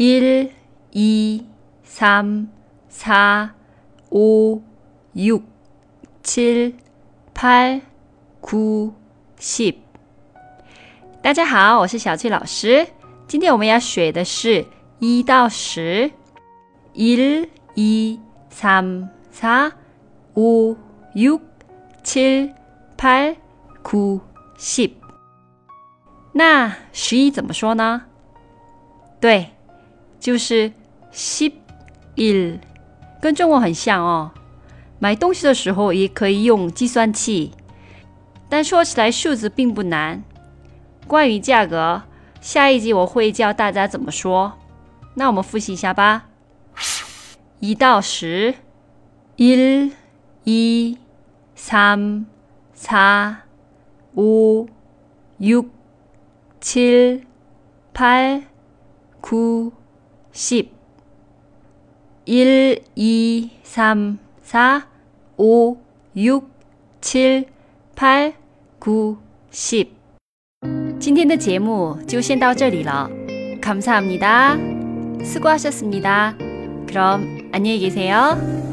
1, 2, 3, 4, 5, 6, 7, 8, 9, 10。大家好，我是小翠老师。今天我们要学的是1到10。1, 2, 3, 4, 5, 6, 7, 8, 9, 10。那11怎么说呢？对，就是11，跟中文很像哦。买东西的时候也可以用计算器，但说起来数字并不难。关于价格，下一集我会教大家怎么说。那我们复习一下吧。1到10 1, 2, 3, 4, 5, 6, 7, 8, 9, 10 1, 2, 3, 4, 5, 6, 7, 8, 9, 10。今天的节目就先到这里了。감사합니다. 수고하셨습니다. 그럼 안녕히 계세요.